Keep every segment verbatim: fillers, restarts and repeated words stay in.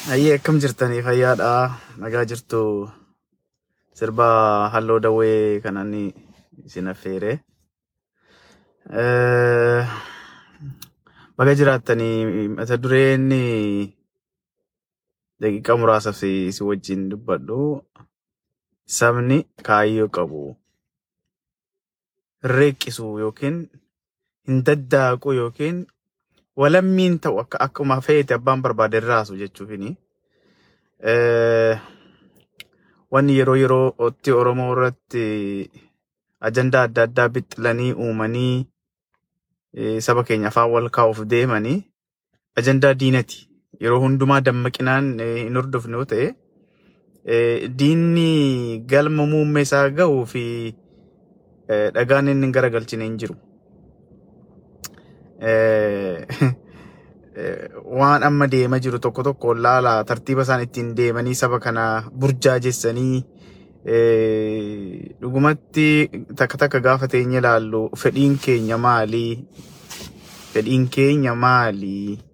Ayyee akkam jirtanii fayyaadha nagaa jirtu sirba halloo dawwee kanani isin affeere eh baga jiraattanii mata dureen daqiiqa muraasaaf si si wajjin dubbadhu sabni kaayyoo qabu reeqisu yookiin hin daddaaqu yookiin walammiin ta'u akka akkuma feete abbaan barbaade raasu jechuufini eh wanni yeroo yeroo otti Oromoo irratti ajandaa adda addaa bixxilanii uumanii saba keenya afaan wal kaa'uuf deemanii ajandaa diinati yeroo hundumaa dammaqinaan hin hordofne yoo ta'e diinni galma muummee isaa ga'uu fi dhagaan inni garagalchine hin jiru. waan amma deema jiru tokko tokko laala tartiiba isaan ittiin deemanii saba kana burjaajessanii dhugumatti takka takka gaafa teenye ilaallu fedhiin keenya maali fedhiin keenya maali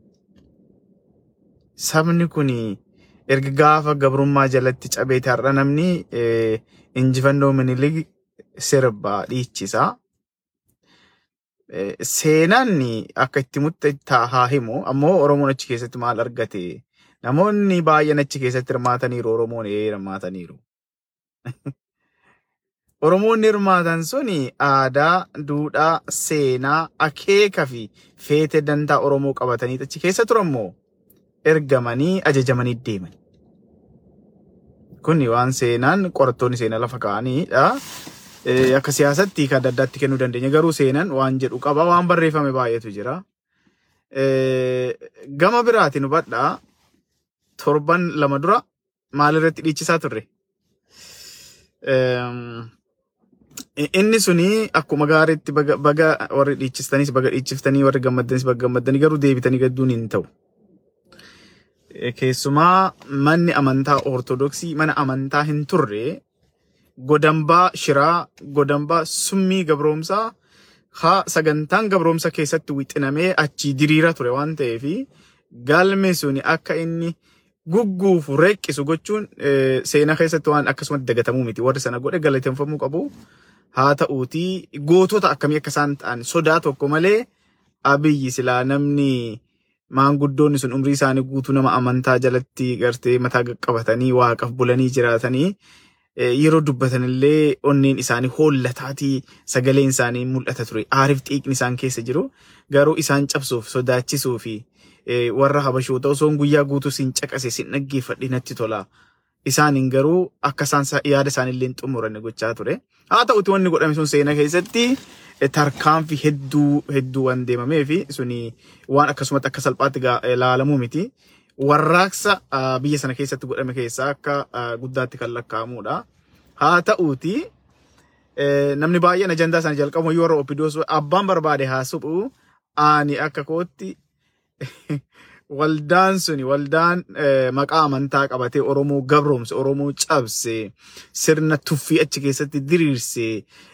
sabni kun erga gaafa gabrummaa jalatti cabeete har'a namni injifannoo Minilik sirba dhiichisa. Seenaan akka itti mutta haa himu ammoo Oromoon achi keessatti maal argate namoonni baay'een achi keessatti hirmaataniiru Oromoon ee hirmaataniiru. Oromoonni hirmaatan suni aadaa duudhaa seenaa akeeka fi feete dantaa Oromoo qabatanii achi keessa turammoo ergamanii ajajamanii deeman. Kuni waan seenaan qorattoonni seenaa lafa kaa'aniidha. Akka siyaasatti kan adda addaatti kennuu dandeenya garuu seenaan waan jedhu qaba waan barreeffame baay'eetu jira. Gama biraatiin hubadhaa torban lama dura maalirratti dhiichisaa turre. Inni suni akkuma gaariitti baga warri dhiichistanis baga dhiichiftanii warri gammaddanis baga gammaddanii garuu deebitanii gadduun hin ta'u. Keessumaa manni amantaa Ortodoksii mana amantaa hin turre godambaa shiraa godambaa summii gabroomsaa haa sagantaan gabroomsa keessatti wixinamee achi diriira ture waan ta'eef galme suni akka inni gugguufu reeqisu gochuun seenaa keessatti waan akkasumatti dagatamuu miti warri sana godhe galateeffamuu qabu haa ta'uutii gootota akkamii akka isaan ta'an sodaa tokko malee Abiyyi silaa namni maanguddoonni sun umrii isaanii guutuu nama amantaa jalatti gartee mataa qabatanii waaqaf bulanii jiraatanii yeroo dubbatan illee onneen isaanii hoollataatii sagaleen isaanii mul'ata ture aariif xiiqni isaan keessa jiru garuu isaan cabsuuf sodaachisuu fi warra habashoota osoo guyyaa guutuu sin caqase sin dhaggeeffadhe natti tola isaaniin garuu akka isaan yaada isaanii illee xumuran gochaa ture haa ta'uti wanni godhame sun seenaa keessatti tarkaanfii hedduu hedduu waan deemamee fi suni waan akkasumatti akka salphaatti ilaalamuu miti. Warraaqsa biyya sana keessatti godhame keessaa akka guddaatti kan lakkaa'amudha. Haa ta'uuti namni baay'een ajandaa sana jalqabu yoo warra Opidoos abbaan barbaade haa suphu ani akka kootti waldaan suni waldaan maqaa amantaa qabatee Oromoo gabroomse Oromoo cabse sirna tuffii achi keessatti diriirse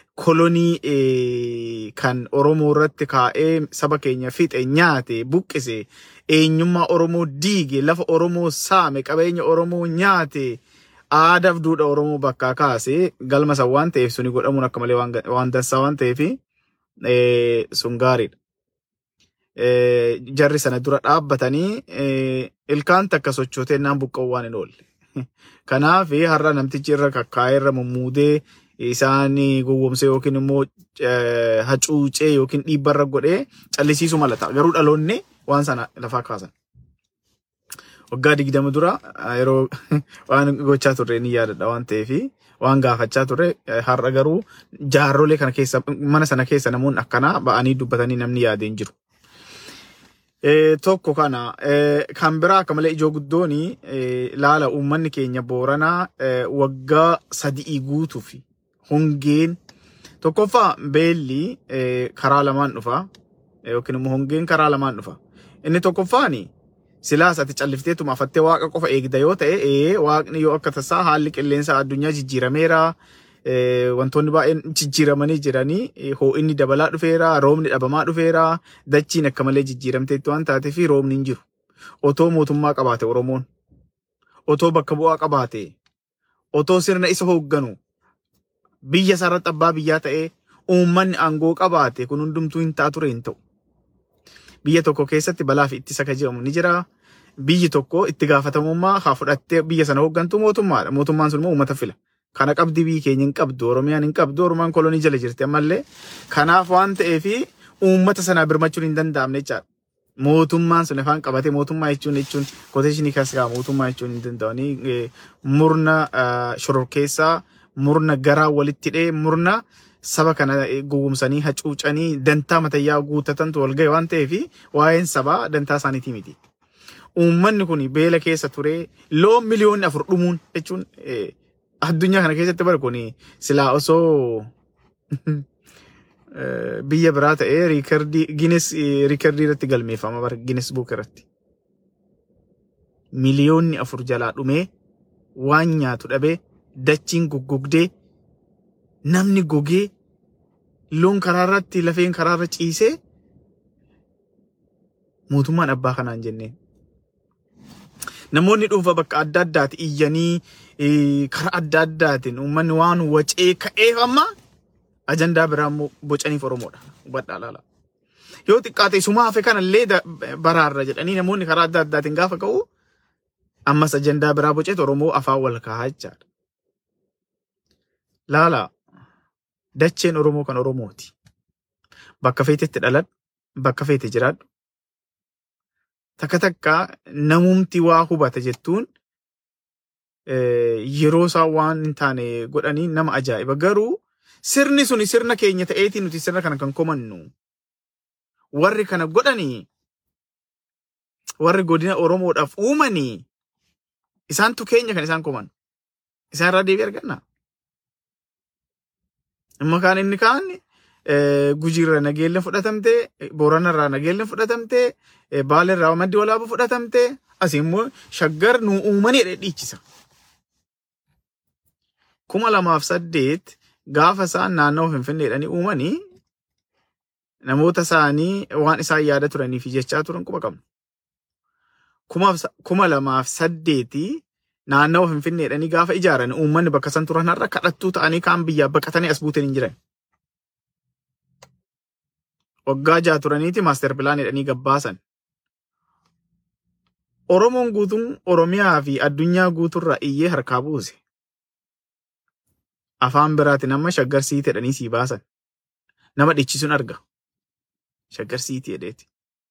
kolonii kan Oromoo irratti kaa'ee saba keenya fixe nyaate buqqise eenyummaa Oromoo diige lafa Oromoo saame qabeenya Oromoo nyaate aadaaf duudhaa Oromoo bakkaa kaase galma san waan ta'eef suni godhamuun akka malee waan dansaa waan ta'eef sun gaariidha. Jarri sana dura dhaabbatanii ilkaan takka sochootee naan buqqa'u waan hin oolle. Kanaaf har'a namtichi irra kakkaa'ee irra mummuudee isaanii gowwomsee yookiin immoo hacuucee yookiin dhiibbarra godhee callisiisuu malata garuu dhaloonni waan sana lafaa kaasan. Waggaa digdama dura yeroo waan gochaa turre ni yaadadha waan ta'eef waan gaafachaa turre har'a garuu jaarrolee kana keessa mana sana keessa namoonni akkanaa ba'anii dubbatanii namni yaadee hin jiru. Tokko kana kan biraa akka malee ijoo guddooni laala uummanni keenya Booranaa waggaa sadii guutuuf hongeen tokkoffaa beelli karaa lamaan dhufa yookiin immoo hongeen karaa lamaan dhufa. Inni tokkoffaani silaas ati callifteetuma afattee waaqa qofa eegda yoo ta'e ee waaqni yoo akka tasaa haalli qilleensa addunyaa jijjiirameera wantoonni baay'een jijjiiramanii jiranii hoo'inni dabalaa dhufeera roobni dhabamaa dhufeera dachiin akka malee jijjiiramteetti waan taateef roobni hin jiru otoo mootummaa qabaate Oromoon otoo bakka bu'aa qabaate otoo sirna isa hoogganu biyya sarratti abbaa biyyaa ta'ee uummanni aangoo qabaate kun hundumtuu hin ta'a ture hin ta'u. Biyya tokko keessatti balaa fi ittisa ka jedhamu ni jira. Biyyi tokko itti gaafatamummaa haa fudhattee biyya sana hooggantu mootummaadha. Mootummaan sun immoo uummata fila. Kana qabdi biyyi keenya hin qabdu, Oromiyaan hin qabdu, Oromaan kolonii jala jirti ammallee. Kanaaf waan ta'eef uummata sana birmachuun hin danda'amne jechaadha. Mootummaan sun afaan qabate mootummaa jechuun jechuun koteeshinii kasgaa mootummaa jechuun hin danda'anii murna shororkeessaa murna garaa walitti hidhee murna saba kana gowwomsanii hacuucanii dantaa matayyaa guutatantu wal ga'e waan ta'eef waa'een sabaa dantaa isaaniitii miti. Uummanni kun beela keessa ture loon miliyoonni afur dhumuun jechuun addunyaa kana keessatti bara kun silaa osoo biyya biraa ta'ee riikardii Guinness riikardii irratti galmeeffama bara Guinness Book irratti. Miliyoonni afur jalaa dhumee waan nyaatu dhabee dachiin goggogdee namni gogee loon karaa irratti lafeen karaa irra ciisee mootummaan abbaa kanaan jenneen. Namoonni dhuunfa bakka adda addaati iyyanii karaa adda addaatiin uummanni waan wacee ka'eef amma ajandaa biraa bocaniif Oromoodha. Hubadhaa laala. Yoo xiqqaate suma hafe kanallee baraarra jedhanii namoonni karaa adda addaatiin gaafa ka'u ammas ajandaa biraa boceet Oromoo afaan wal kaa'aa jechaadha. Laala dacheen Oromoo kan Oromooti. Bakka feetetti dhaladhu, bakka feete jiraadhu. Takka takka namumti waa hubata jettuun yeroo isaa waan hin taane godhanii nama ajaa'iba. Garuu sirni suni sirna keenya ta'eetii nuti sirna kana kan komannu. Warri kana godhanii warri godina Oromoodhaaf uumanii isaantu keenya kan isaan koman. Isaan irraa deebii arganna. Amma kaan inni kaan Gujiirra nageenya fudhatamtee, Booranarraa nageenya fudhatamtee, Baalerraa maddi walaabaa fudhatamtee, asii immoo Shaggar nu uumanii dhiichisa. Kuma lamaaf saddeet gaafa isaan naannoo Finfinneedhanii uumanii namoota isaanii waan isaan yaada turanii fi jechaa turan quba qabnu. Kuma lamaaf saddeetii naannoo Finfinneedhanii gaafa ijaaran uummanni bakka san turan har'a kadhattuu ta'anii kaan biyyaa baqatanii as buuteen hin jiran. Waggaa jaha turaniiti maaster pilaanidhanii gabbaasan. Oromoon guutuun Oromiyaa fi addunyaa guuturraa iyyee harkaa buuse. Afaan biraati nama Shaggar Siiti jedhanii sii baasan. Nama dhichisuun arga. Shaggar Siiti jedheeti.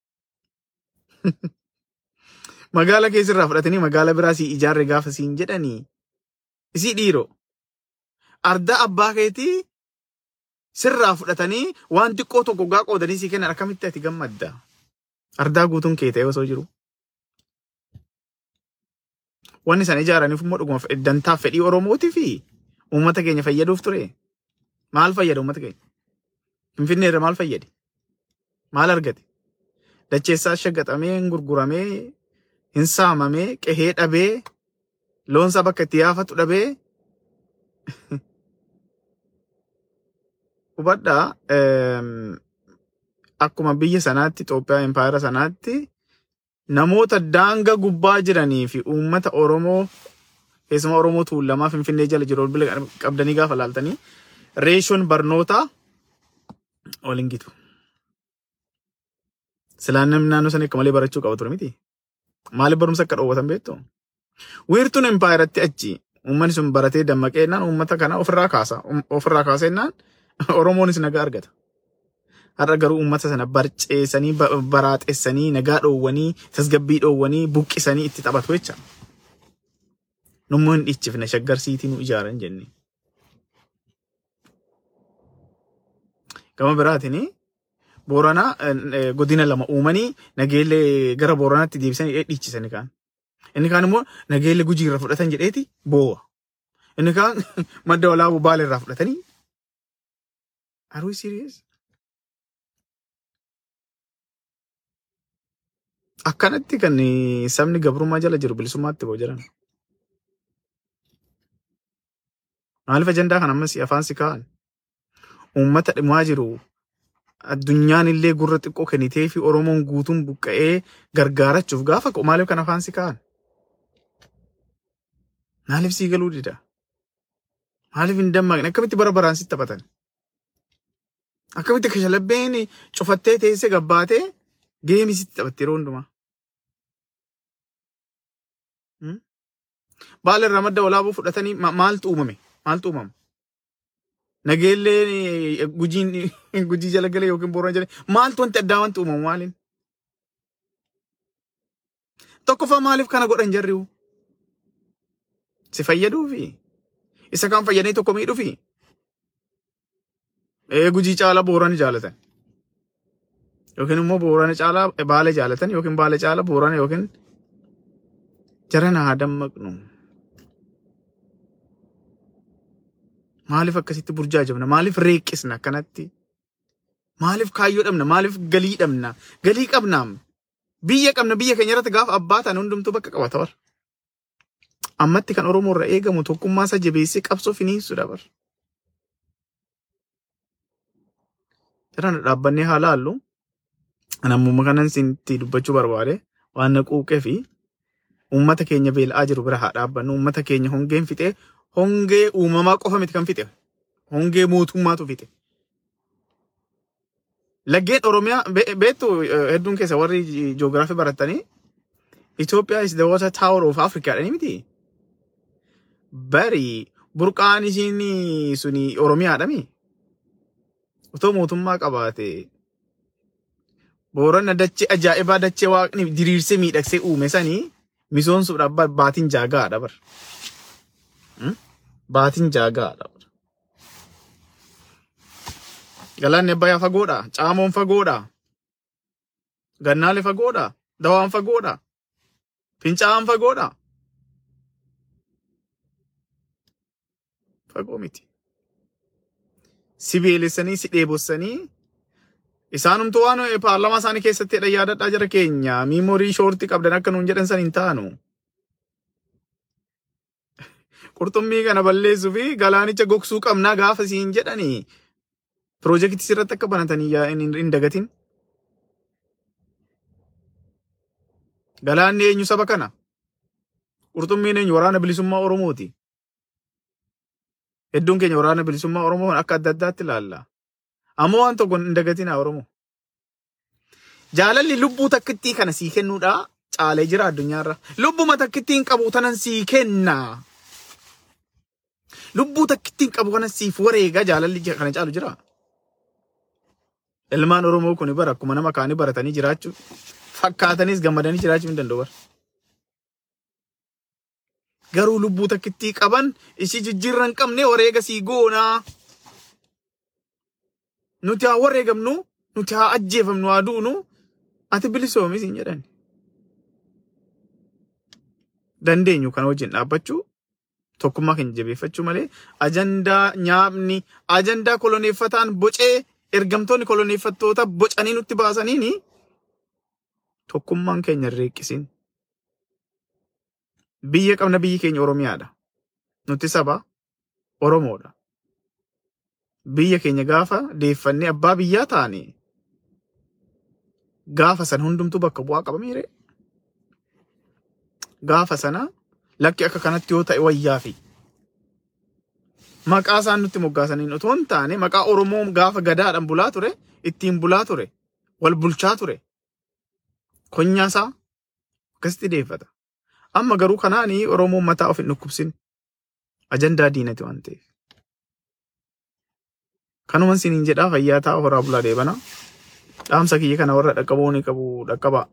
Magaala keessirraa fudhatanii magaala biraa sii ijaarre gaafa siin jedhanii isii dhiiroo. Ardaa abbaa keetii sirraa fudhatanii waan xiqqoo tokko gaa qoodanii sii kennan akkamitti ati gammadda. Ardaa guutuun kee ta'e osoo jiru. Wanni isaan ijaaraniif immoo dhuguma dantaaf fedhii Oromootii fi uummata keenya fayyaduuf ture. Maal fayyada uummata keenya? Finfinneerra maal fayyade? Maal argate? Dacheessaa shaggaxamee, gurguramee, hin saamamee, qehee dhabee, loonsa bakka itti yaafatu dhabee. Hubadhaa akkuma biyya sanaatti Itoophiyaa empaayeera sanaatti namoota daanga gubbaa jiranii fi uummata Oromoo keessumaa Oromoo tuulamaa Finfinnee jala jiru ol bila qabdanii gaafa laaltanii reeshoon barnootaa waliin gitu. Silaan namni naannoo sana akka malee barachuu qaba ture miti. Maaliif barumsa akka dhoowwatan beektu? Wiirtuun empaayeratti achi uummanni sun baratee dammaqeennaan uummata kana ofirraa kaasa. Ofirraa kaasennaan Oromoonis nagaa argata. Har'a garuu uummata sana barceessanii baraaxessanii nagaa dhoowwanii tasgabbii dhoowwanii buqqisanii itti taphatu jecha. Nummoo hin dhichifne Shaggar Siitii nu ijaaran jenne. Gama biraatiin Booranaa godina lama uumanii nageellee gara Booranaatti deebisanii dhiichisanii kaan. Inni kaan immoo nageellee Gujiirra fudhatan jedheeti boo'a. Inni kaan madda walaabuu Baalerraa fudhatanii. Are we serious? Akkanatti kan sabni gabrummaa jala jiru bilisummaatti boo jiran. Maaliif ajandaa kan ammas afaan si kaa'an? Uummata dhimaa jiru addunyaan illee gurra xiqqoo kennitee fi Oromoon guutuun buqqa'ee gargaarachuuf gaafa maaliif kan afaan si kaa'an? Maaliif sii galuu dida? Maaliif hin dammaqne? Akkamitti bara baraan sitti taphatan? Akkamitti kashalabbeen cufattee teessee gabbaatee geemii sitti taphatte yeroo hundumaa? Baala irraa madda walaabuu fudhatanii maaltu uumame? Maaltu uumama? Nageellee gujiin gujii jala galee yookiin boorana jala maaltu wanti addaa wanti uumamu maaliin? Tokkoffaa maaliif kana godhan jarriu? Si fayyaduufi? Isa kan fayyadanii tokko miidhuufi? Ee gujii caalaa boorana jaalatan. Yookiin immoo boorana caalaa baala jaalatan yookiin baala caalaa boorana yookiin jarana haa dammaqnu. Maaliif akkasitti burjaajamna? Maaliif reeqqisna akkanatti? Maaliif kaayyoo dhabna? Maaliif galii dhabna? Galii qabnaam. Biyya qabna biyya keenya irratti gaafa abbaa ta'an hundumtuu bakka qabata bar. Ammatti kan Oromoo irraa eegamu tokkummaa isaa jabeessee qabsoo finiinsuudha bar. Jarana dhaabbannee haa laallu. Namoota kanan sinti dubbachuu barbaade waan na quuqee fi uummata keenya beela'aa jiru bira haa dhaabbannu. Uummata keenya hongeen fixee hongee uumamaa qofa miti kan fixe. Hongee mootummaatu fixe. Laggeen Oromiyaa beektu hedduun keessa warri ji'oogiraafii baratanii Ethiopia is the water tower of Africa dhani miti. Bari burqaan ishiin suni Oromiyaadhami. Otoo mootummaa qabaate Boorana dachee ajaa'ibaa dachee waaqni diriirsee miidhagsee uume sanii misoomsuudhaaf baatiin jaagaadha bar. Baatiin jaagaadha. Galaanni Abbayyaa fagoodha. Caamoon fagoodha. Gannaalee fagoodha. Dawaan fagoodha. Fincaa'aan fagoodha. Fagoo miti. Si beelessanii si dheebossanii isaanumtu waan paarlamaa isaanii keessatti yaadadhaa jara keenya miimoorii shoortii qabdan akka nuun jedhan san hin taanu. Qurxummii kana balleessuu fi galaanicha gogsuu qabnaa gaafa siin jedhanii Projekti sirratti akka banatanii hin dagatin. Galaanni eenyu saba kana? Qurxummiin eenyu waraana bilisummaa Oromooti. Hedduun keenya waraana bilisummaa Oromoo akka adda addaatti ilaalla. Ammoo waan tokko hin dagatinaa Oromoo. Jaalalli lubbuu takkittii kana sii kennuudha caalee jira addunyaarra. Lubbuma takkittiin qabu tanan sii kenna. Lubbuu takkittiin qabu kana siif wareega jaalalli kana caalu jira. Ilmaan Oromoo kun bara akkuma nama kaanii baratanii jiraachuu fakkaatanis gammadanii jiraachuu hin danda'u. Garuu lubbuu takkittii qaban ishii jijjiirra hin qabne wareega sii goonaa. Nuti haa wareegamnu, nuti haa ajjeefamnu, haa duunu, ati bilisoomis hin jedhan. Dandeenyu kana wajjin dhaabbachuu tokkummaa keenya jabeeffachuu malee ajandaa nyaapni ajandaa koloneeffataan bocee ergamtoonni koloneeffattoota bocanii nutti baasaniini tokkummaan keenya reeqqisin. Biyya qabna biyyi keenya Oromiyaadha. Nuti saba Oromoodha. Biyya keenya gaafa deeffannee abbaa biyyaa taane gaafa san hundumtu bakka bu'aa qabamiire. Gaafa sana lakki akka kanatti yoo ta'e wayyaa fi maqaa isaan nutti moggaasaniin otoo hin taane maqaa Oromoo gaafa gadaadhaan bulaa ture ittiin bulaa ture wal bulchaa ture konyaasaa akkasitti deeffata. Amma garuu kanaanii Oromoon mataa of hin dhukkubsin ajandaa diinati waan ta'eef. Kanuman siniin jedhaa fayyaa ta'a horaa bulaa deebana. Dhaamsa kiyya kana warra dhaqqaboo ni qabu dhaqqaba.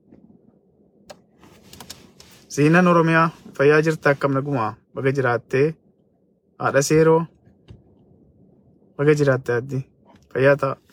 Seenaan Oromiyaa fayyaa jirta akkam nagumaa baga jiraattee haadha seeroo baga jiraatte addi fayyaa ta'a.